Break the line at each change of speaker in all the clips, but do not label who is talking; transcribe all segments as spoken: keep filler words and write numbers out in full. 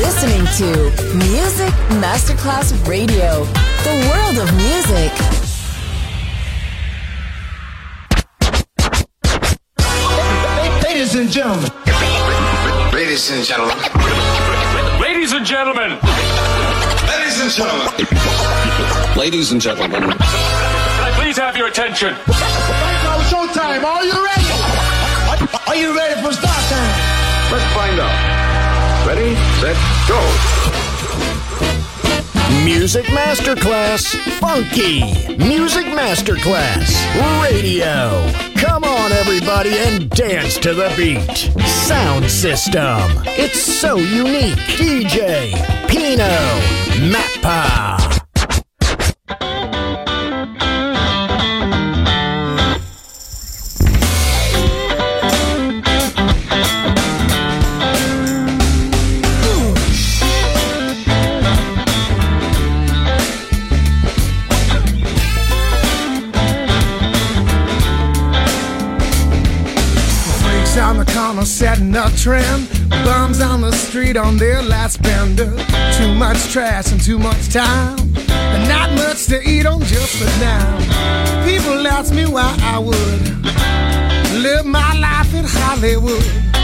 listening to Music Masterclass Radio, the world of music.
Ladies and gentlemen.
Ladies and gentlemen.
Ladies and gentlemen.
Ladies and gentlemen.
Ladies and gentlemen.
Can I please have your attention?
Now showtime. Are you ready? Are you ready for start time?
Let's find out. Ready, set, go.
Music Masterclass Funky. Music Masterclass Radio. Come on, everybody, and dance to the beat. Sound system. It's so unique. D J Pino Mappa.
On the corner setting a trend, bums on the street on their last bender. Too much trash and too much time, and not much to eat on just sit down. People ask me why I would live my life in Hollywood.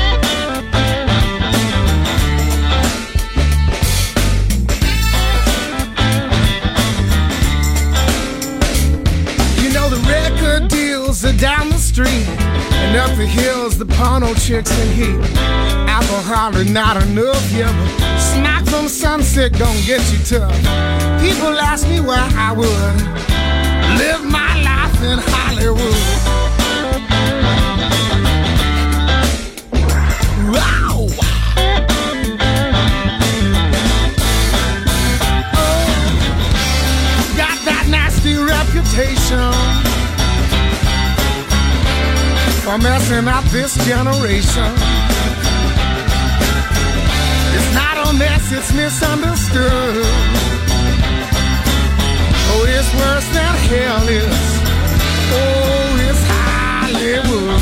You know the record deals are down the street, and up the hills, the porno chicks in heat. Alcohol is not enough, yeah, but smack from sunset gon' get you tough. People ask me why I would live my life in Hollywood. Wow! Oh, got that nasty reputation for messing up this generation. It's not a mess, it's misunderstood. Oh, it's worse than hell is. Oh, it's Hollywood.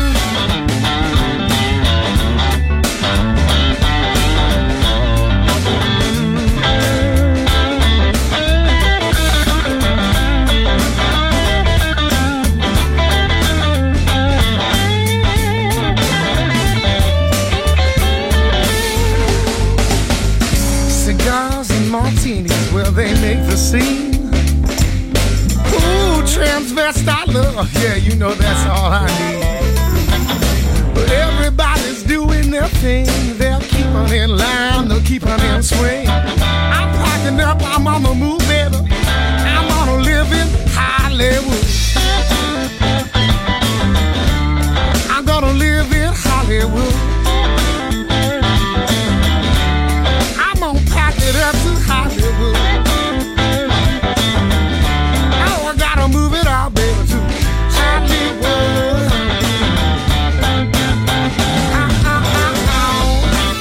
Martinis, well, they make the scene. Ooh, transvestite love, yeah, you know that's all I need. But everybody's doing their thing. They'll keep on in line, they'll keep on in swing. I'm packing up, I'm on the move, baby. I'm gonna live in Hollywood. I'm gonna live in Hollywood. It up to Hollywood. Oh, I gotta move it all, baby, to Hollywood. Ah, ah, ah, ah.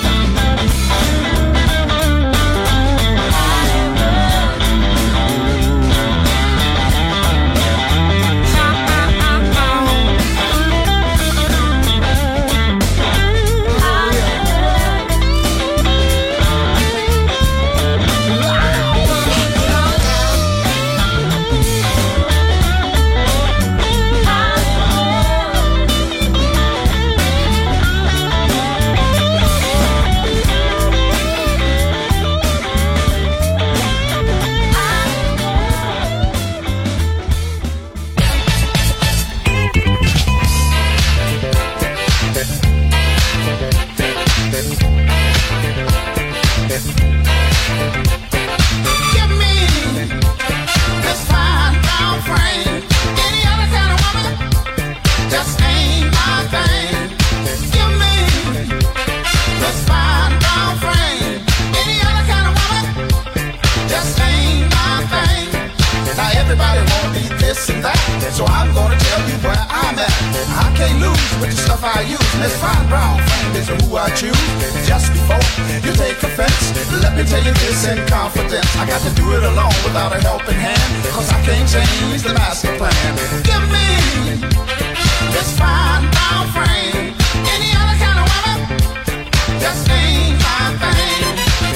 So I'm gonna tell you where I'm at. I can't lose with the stuff I use. Let's find brown friend is who I choose. Just before you take offense, let me tell you this in confidence. I got to do it alone without a helping hand, cause I can't change the master plan. Give me this fine brown frame. Any other kind of woman just ain't my thing.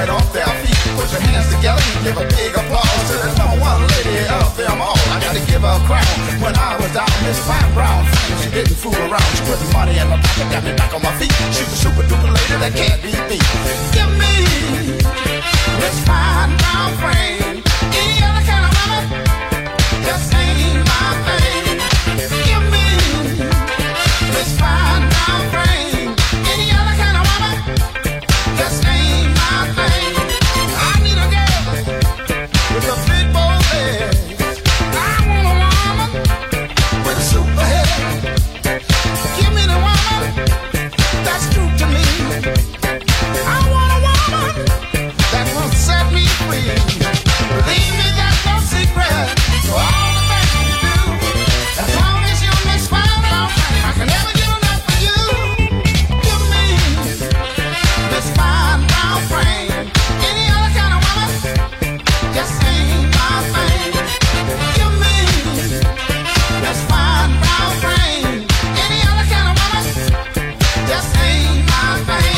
right off their feet. Put your hands together and give a big applause to the number one lady of them all. I gotta give her a crown. When I was down, Miss Fine Brown Frame, she didn't fool around. She put the money in my pocket, got me back on my feet. She's a super duper lady that can't be beat. Give me Miss Fine Brown Frame. Any other kind of woman just ain't my thing. Give me Miss Fine Brown Frame. Any other kind of woman just ain't my thing. I need a girl with a big bold head. I want a woman with a super head. Give me the woman that's true to me. I want a woman that will set me free. Believe me, that's no secret. So all the things you do, as long as you miss Fine Brown Frame, I can never get enough of you. Give me Miss Fine Brown Frame. Any other kind of woman just ain't my thing. Give me Miss Fine Brown Frame. Any other kind of woman just ain't my thing.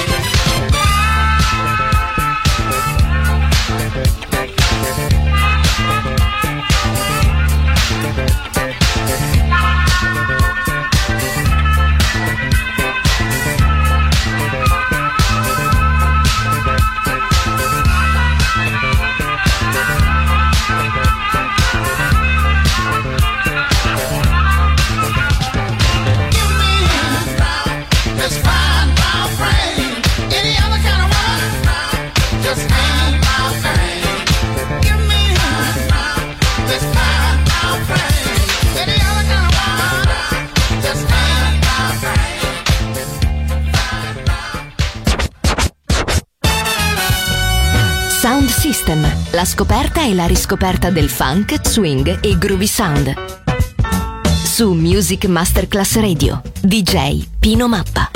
Give me Miss Fine Brown Frame. Any other kind of woman just ain't my thing. Give me Miss Fine Brown Frame. Any other kind of woman just ain't my thing.
Sound System, la scoperta e la riscoperta del funk, swing e groovy sound. Su Music Masterclass Radio, D J Pino Mappa.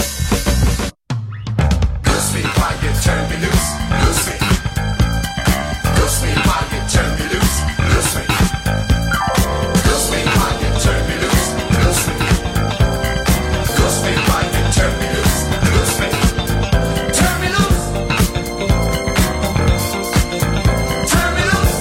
Loose me while you turn me loose. Loose me. Loose me while you turn me loose. Loose me. Loose me while you turn me loose. Loose me. Loose me while you turn me loose. Loose me. Turn me loose. Turn me loose.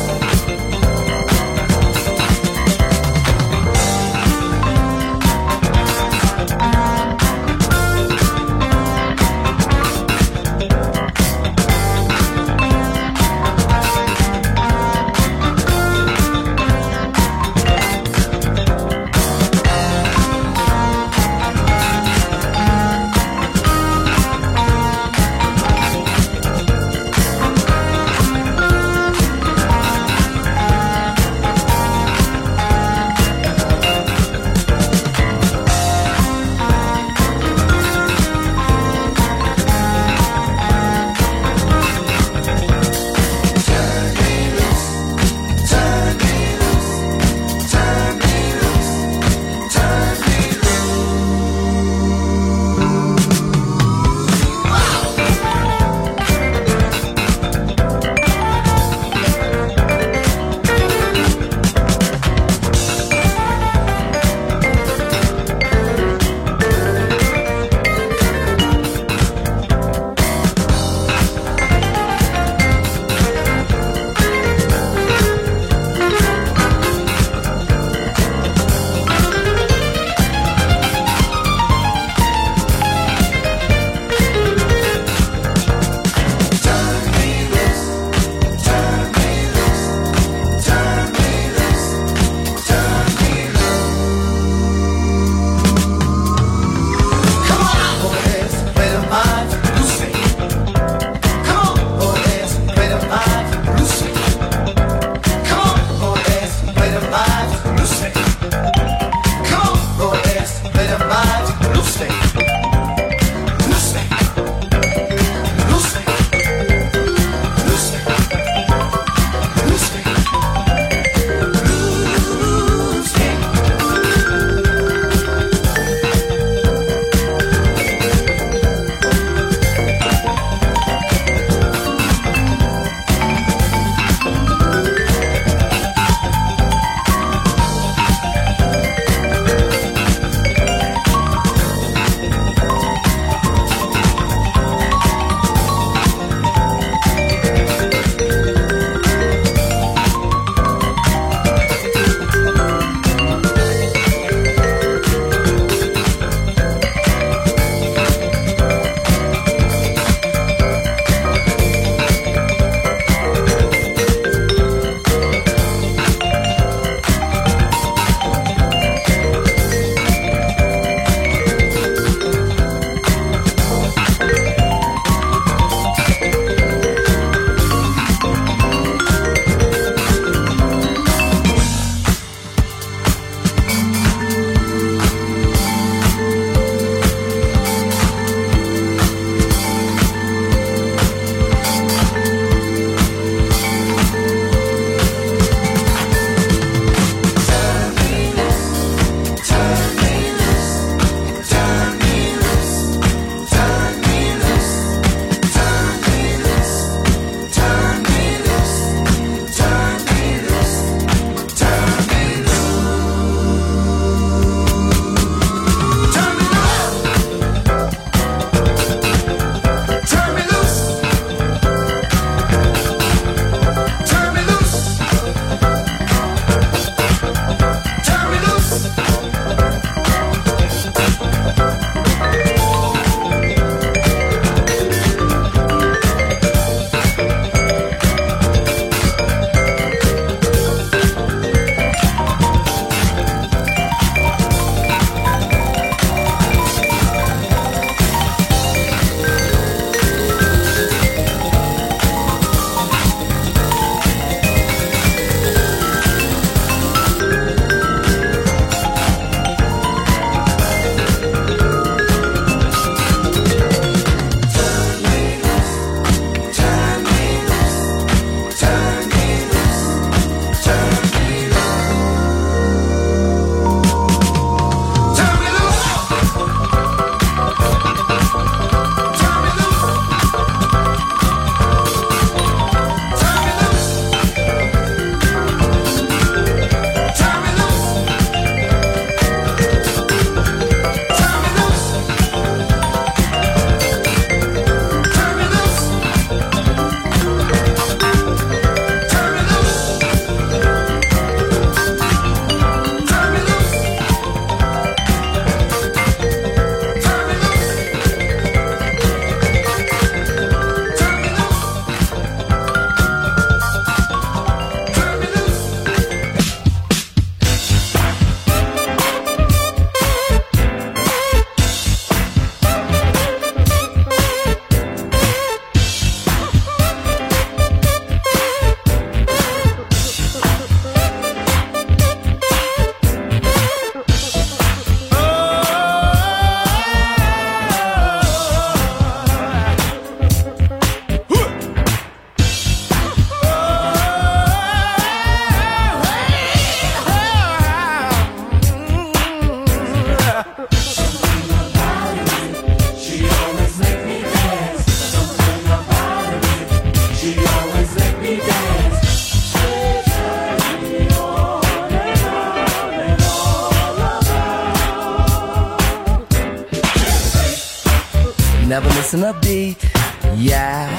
missing a beat, yeah.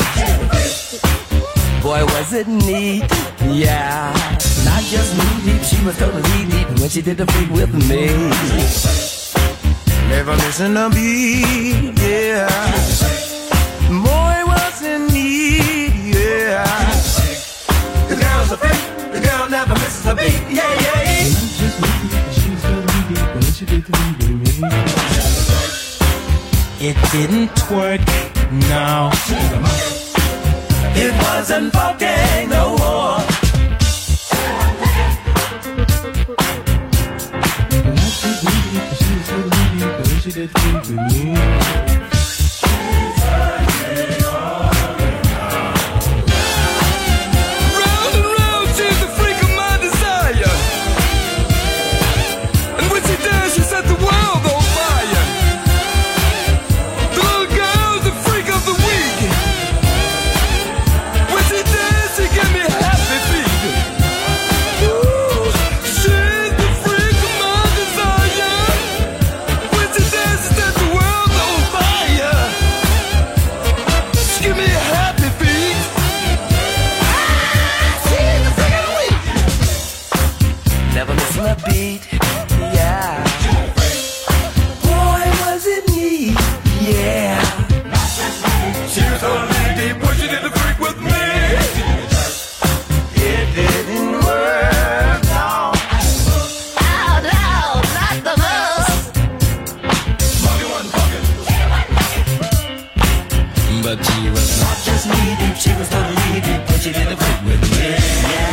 Boy, was it neat, yeah. Not just knee deep, she was totally deep when she did the freak with me. Never missing a beat, yeah. Boy, was it neat, yeah. The girl's a freak, the girl never misses a beat, yeah, yeah. Not just knee deep, she was totally deep when she did the freak with me. It didn't twerk, no. It wasn't funky no more. She did think with me. Round and round, she's the freak of my desire. And when she does, she set the world on fire. The little girl's the freak of the week. When she does, she give me happy feet. Ooh, she's the freak of my desire. When she does, she set the world on fire. She give me happy feet. Ah, she's the freak of the week. Never missing a beat, yeah. Boy, was it neat, yeah. She was totally deep when she did the freak with me. It didn't work, no. Oh, no, not the most. Buggy wasn't fucking. But she was not just knee deep, she was totally deep when she did the freak with me. Yeah.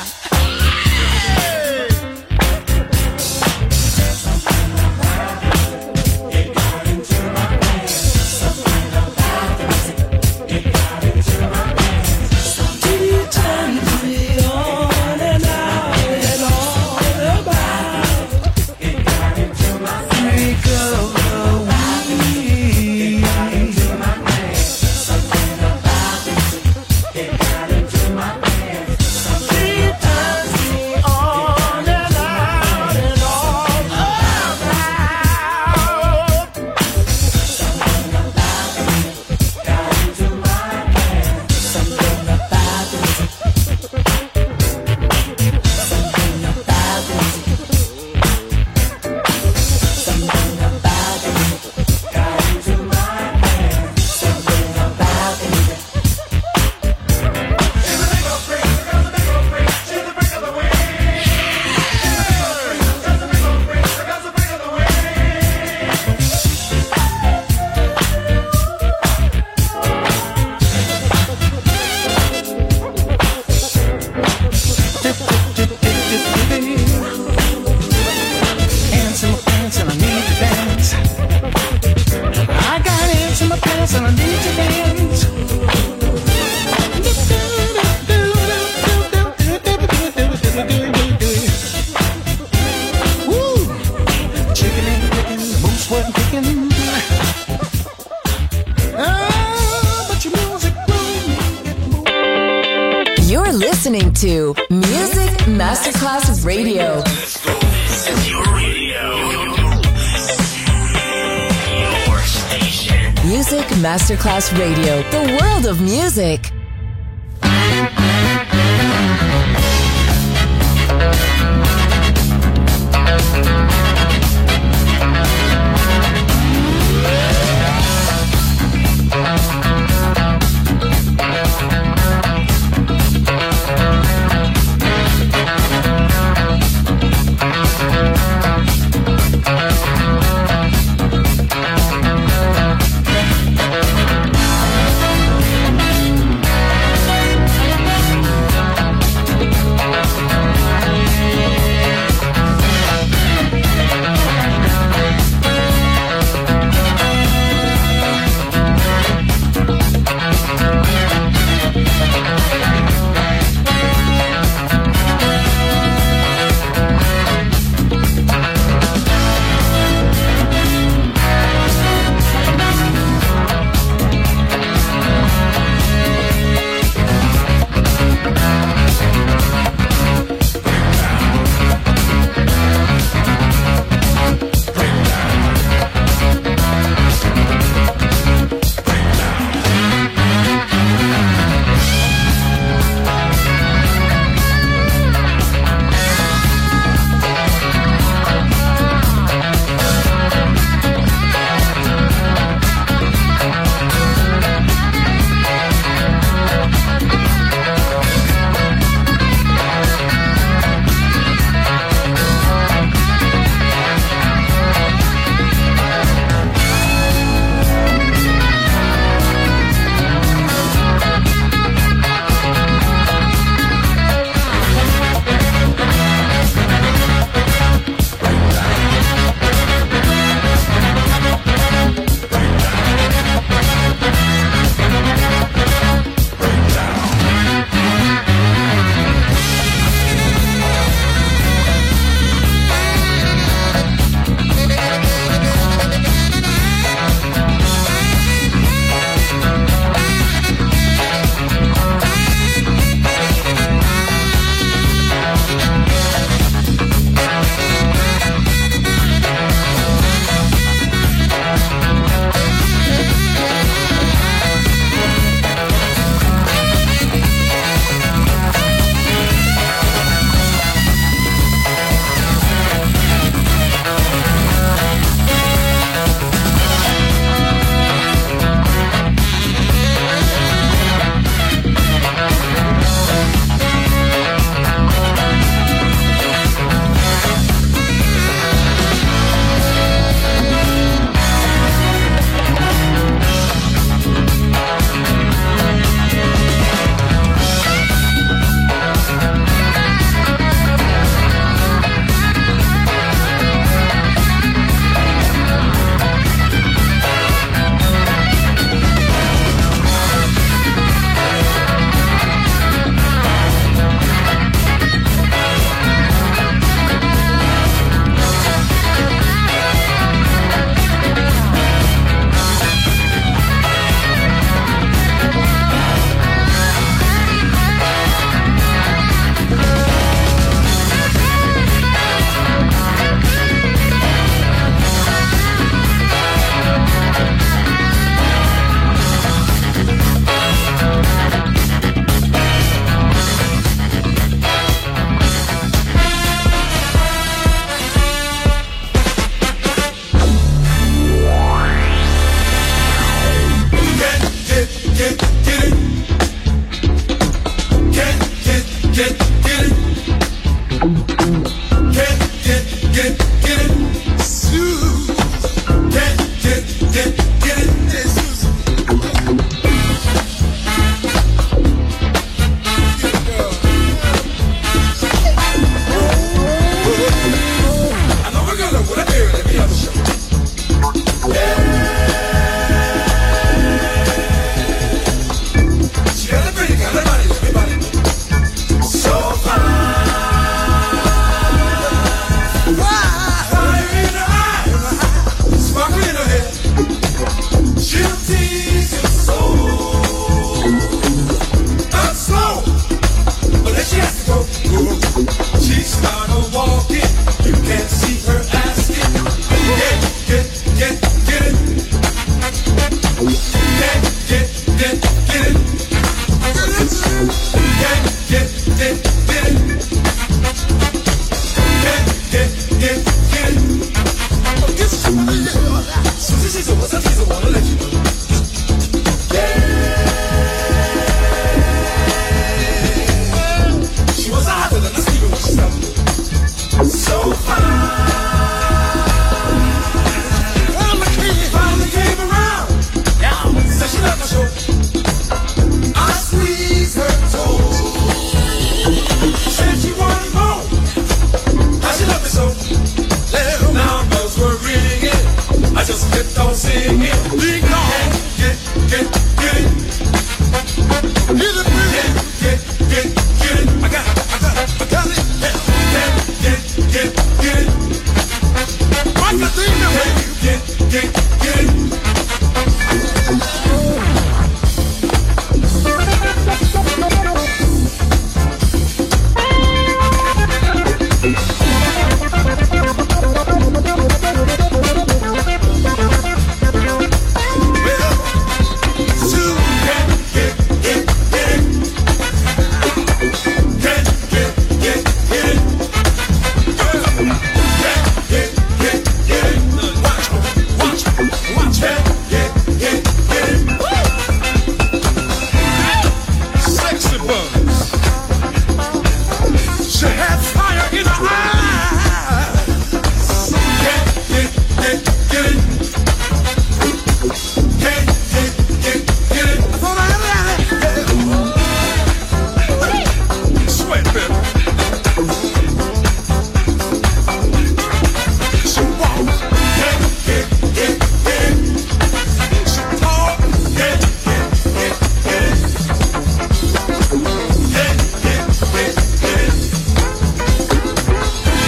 Listening to Music Masterclass Radio.
This is your radio. Your station.
Music Masterclass Radio. The world of music.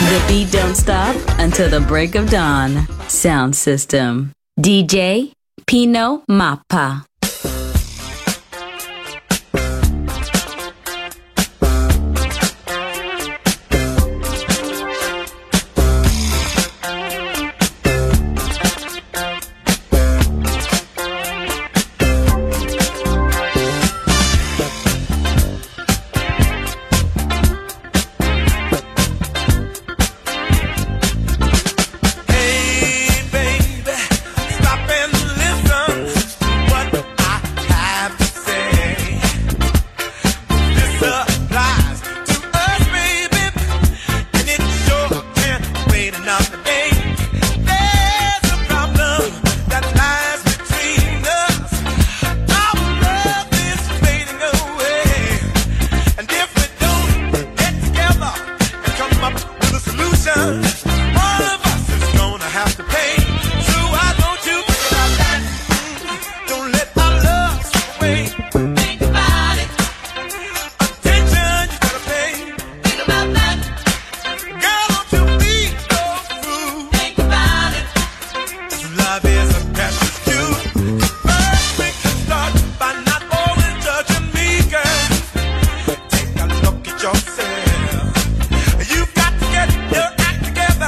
The beat don't stop until the break of dawn. Sound system. D J Pino Mappa.
You've got to get your act together.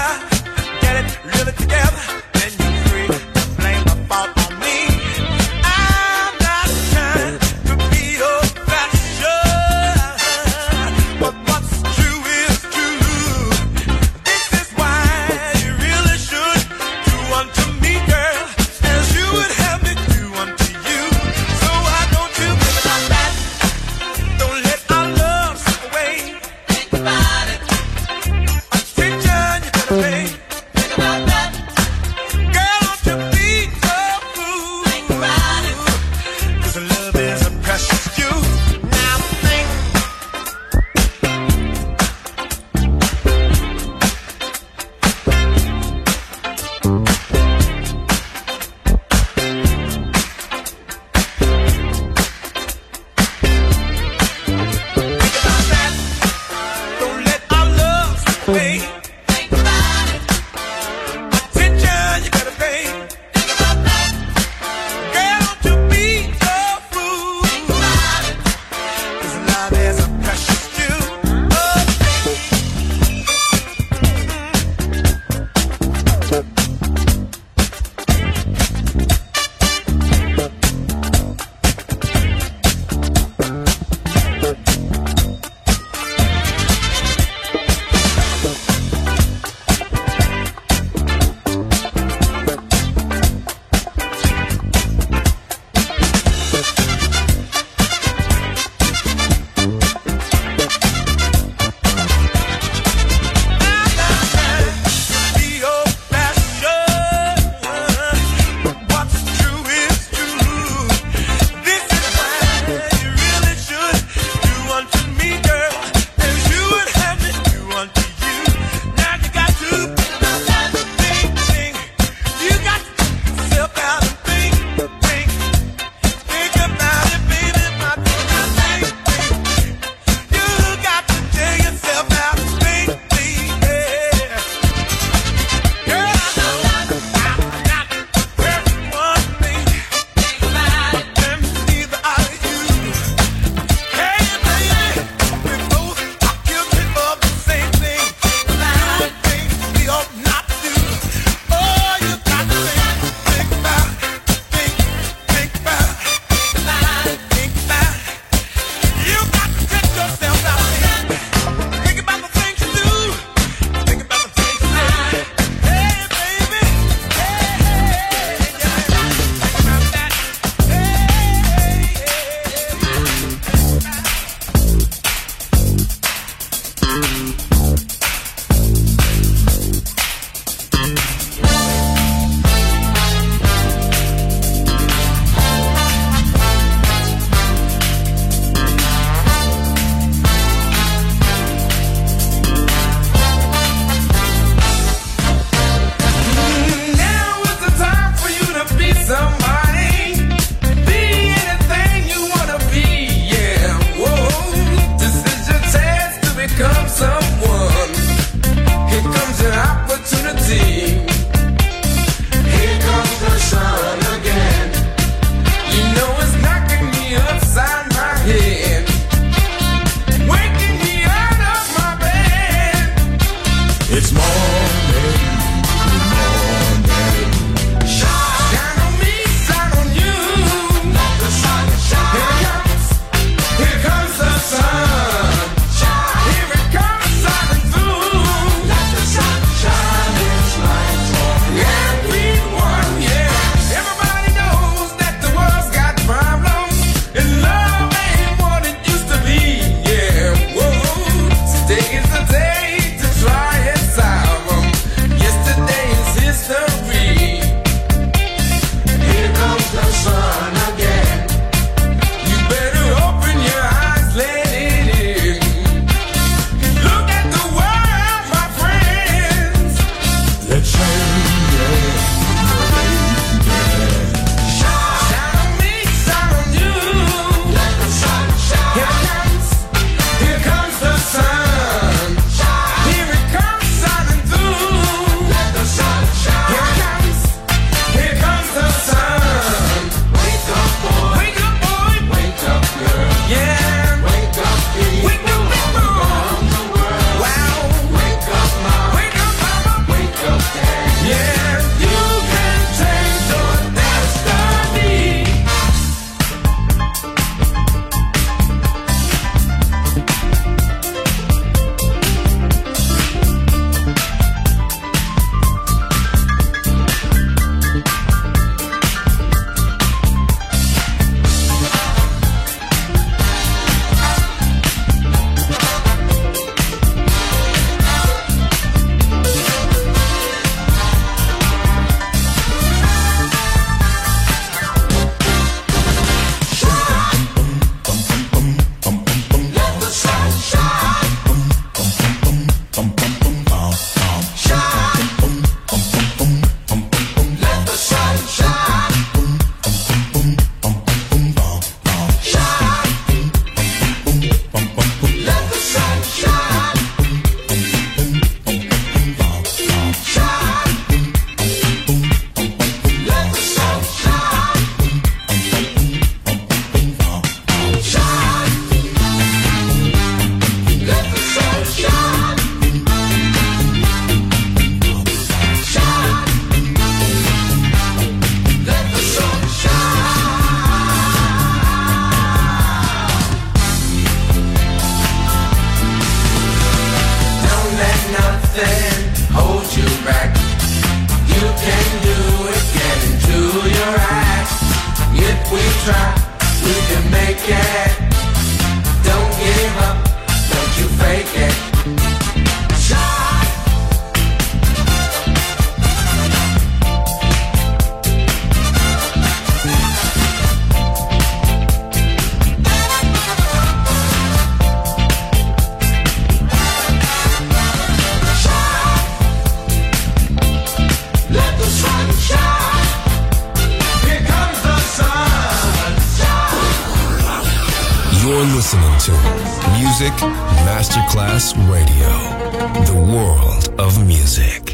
listening to Music Masterclass Radio, the world of music.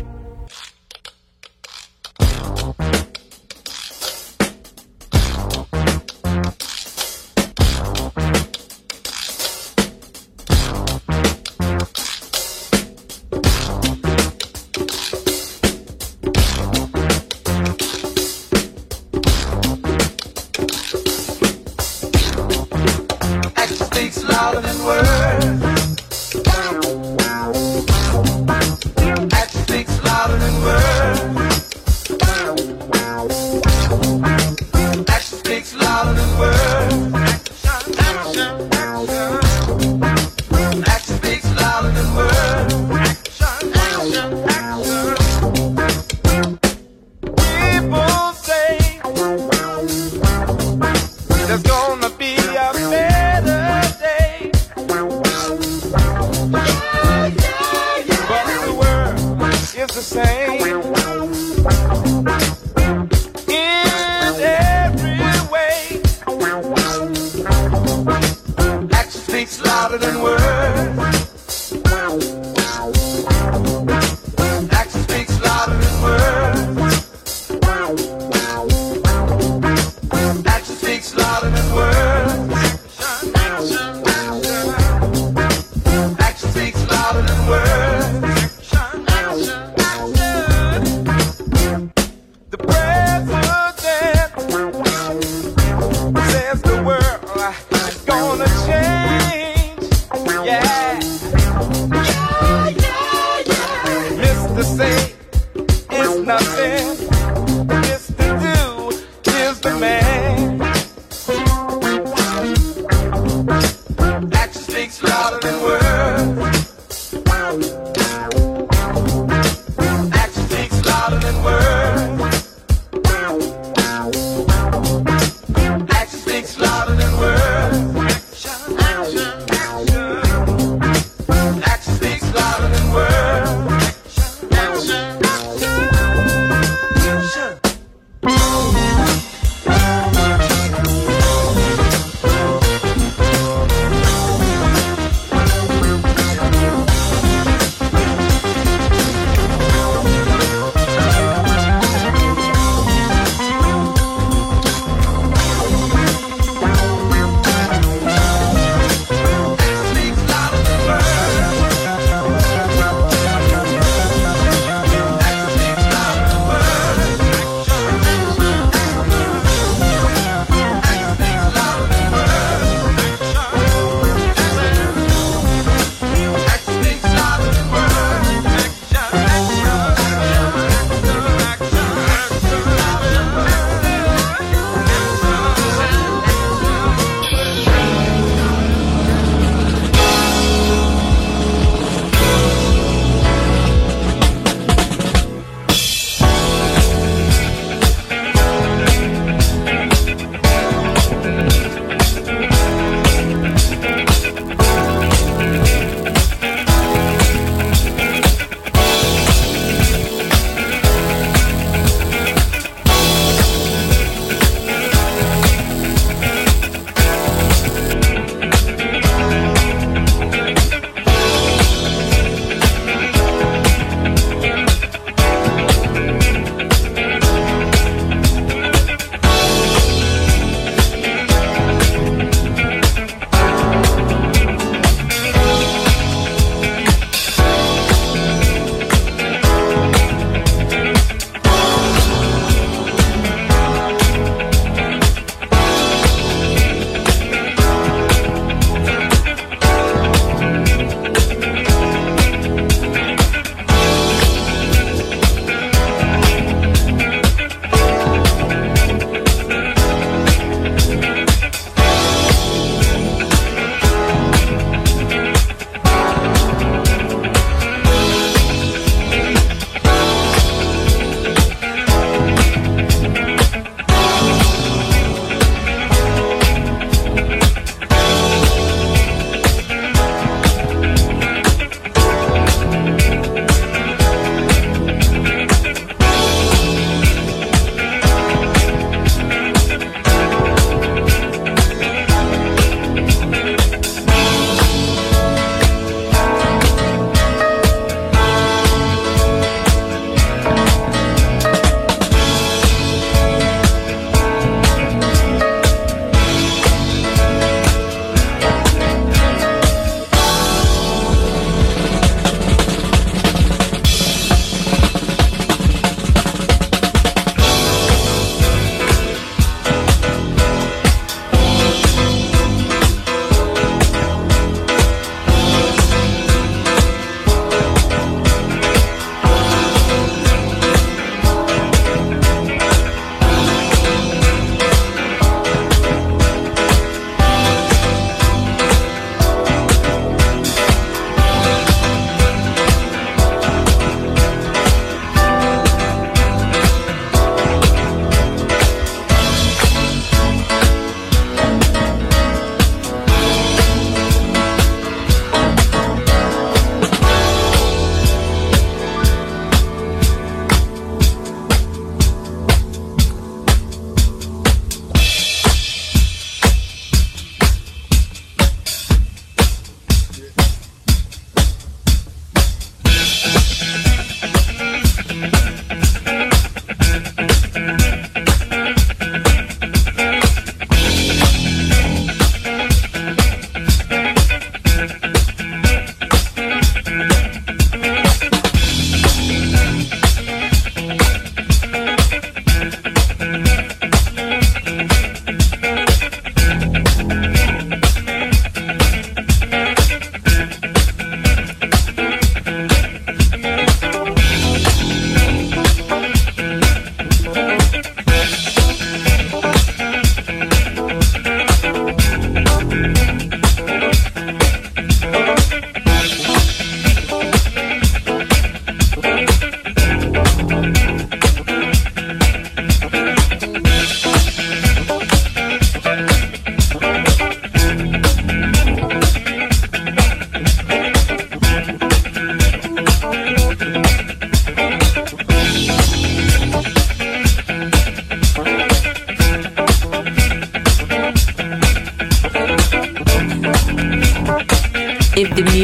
Action speaks louder than words.
say is nothing. Mister Do is the man. Action speaks louder than words. Action speaks louder than words. Action speaks louder than words. Action, action, action speaks louder than words. Action.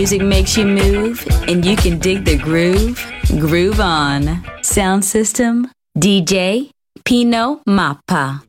music makes you move and you can dig the groove, groove on. Sound system, D J Pino Mappa.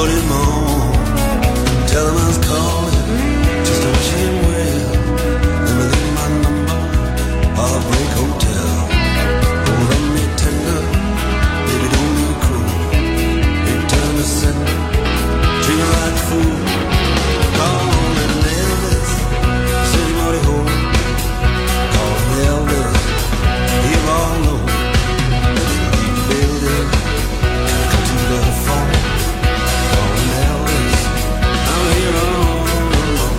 him on. Tell him I was calling just to wish him well. Then I leave my number, Heartbreak Hotel. Oh, let me tender, baby, don't be cruel. Return to sender, treat me like a fool. Call him Elvis, said he mighty home. Call him Elvis, he'll all know. Leave the building, come to the phone. Call him Elvis, I'm here all alone.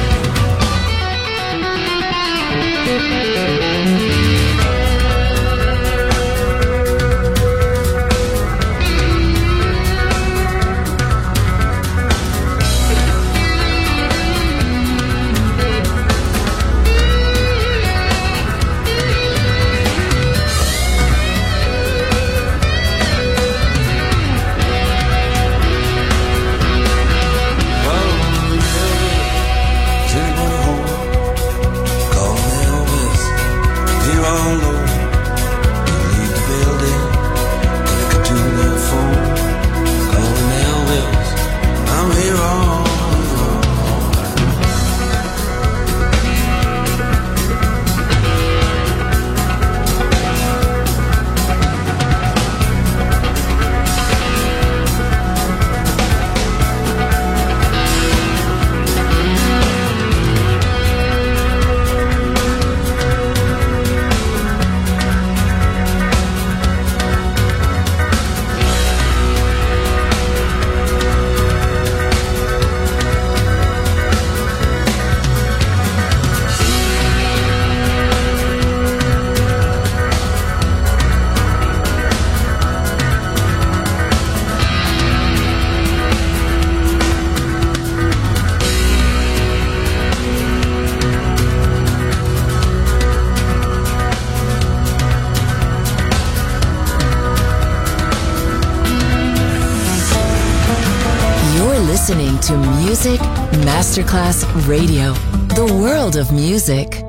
Listening to Music Masterclass Radio, the world of music.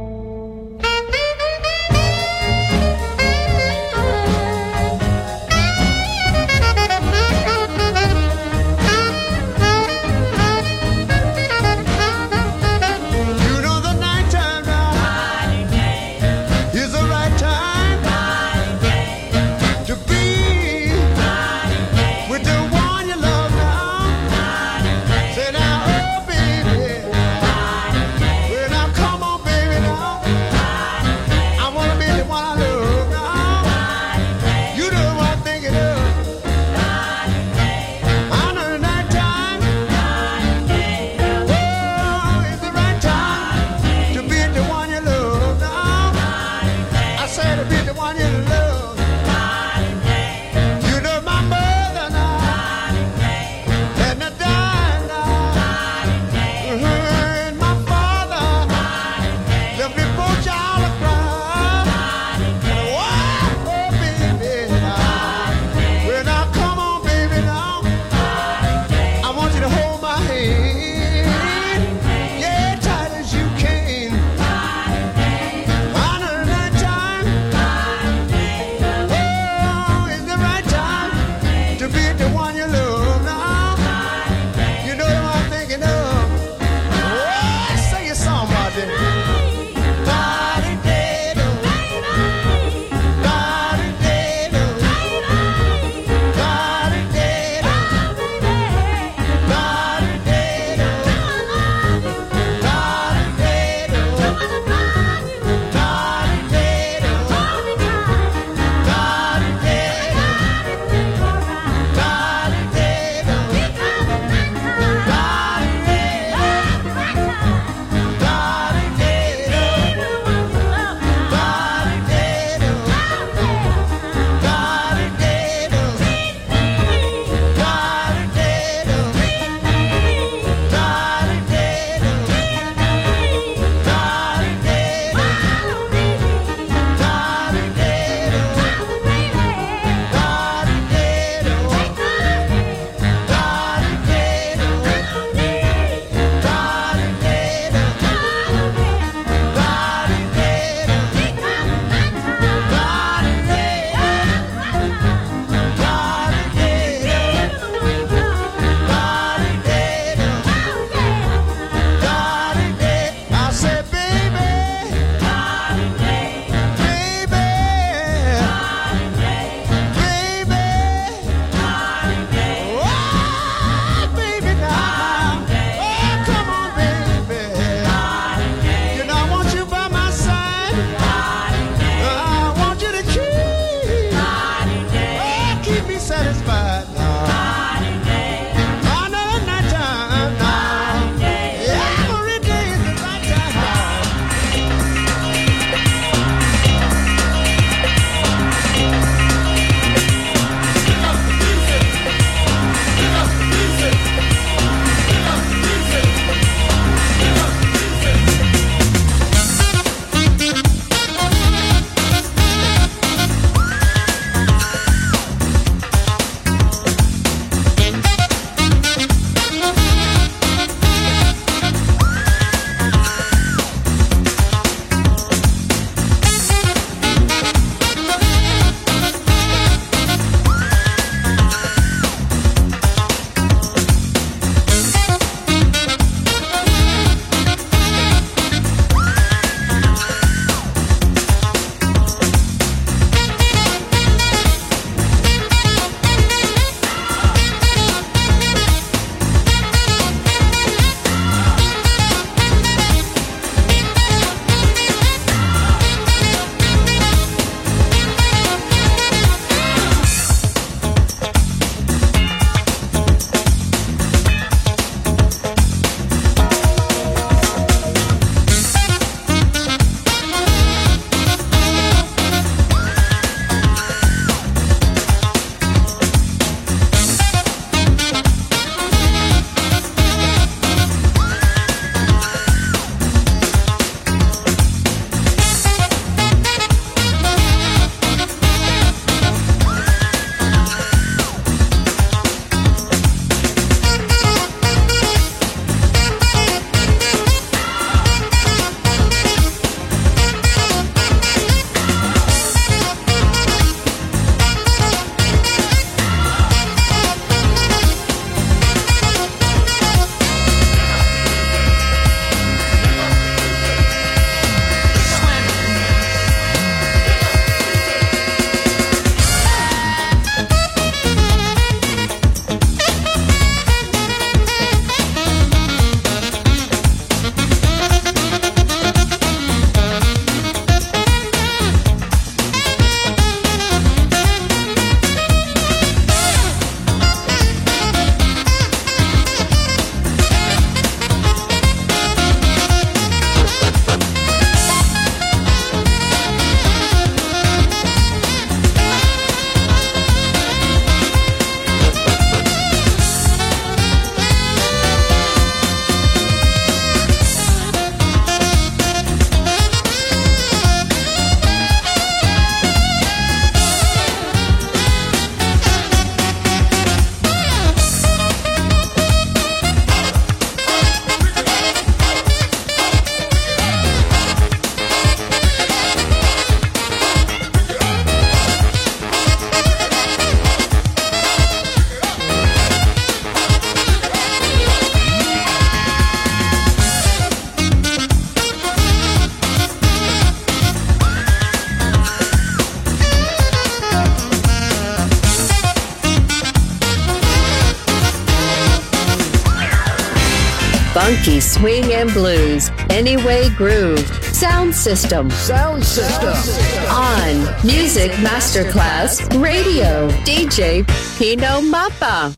Funky swing and blues. Anyway Groove. Sound System.
Sound System.
On Music Masterclass Radio. D J Pino Mappa.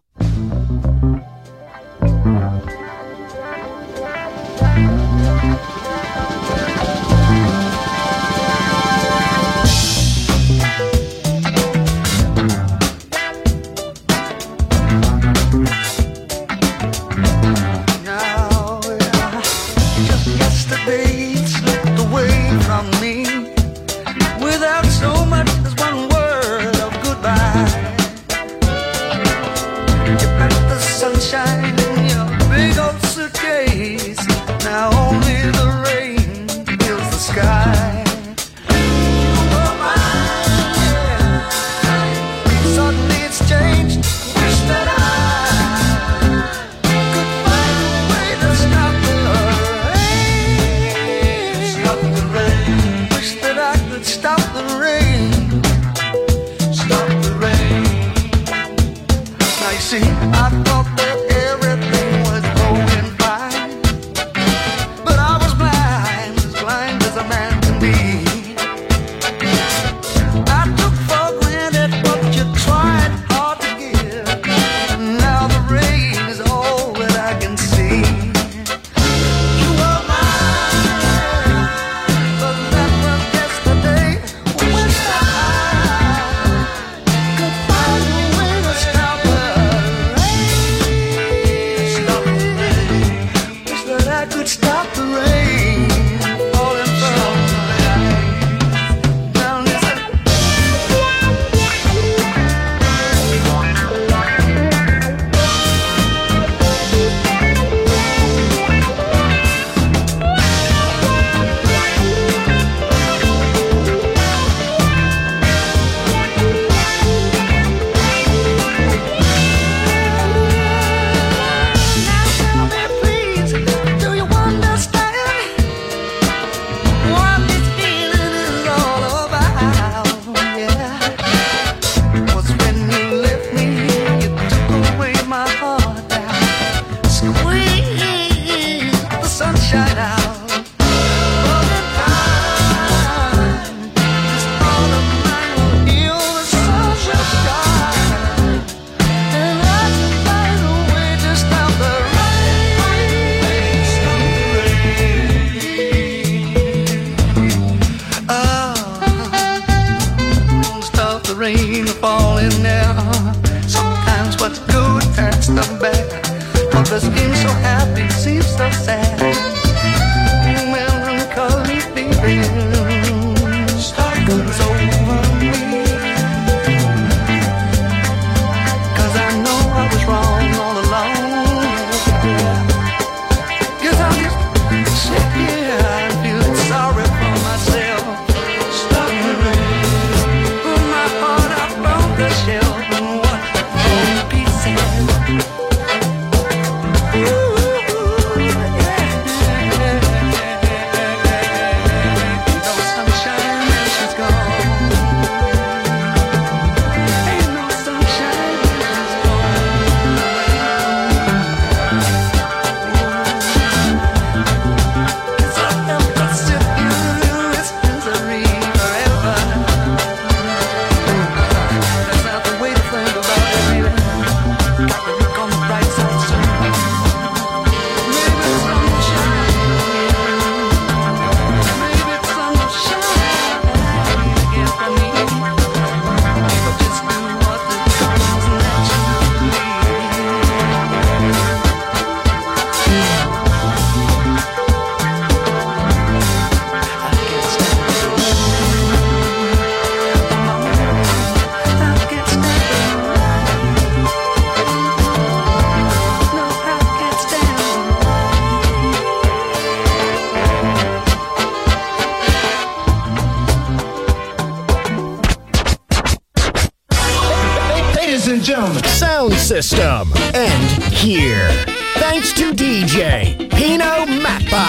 Sound System. And here, thanks to D J Pino Mappa.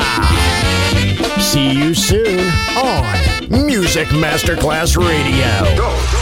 See you soon on Music Masterclass Radio.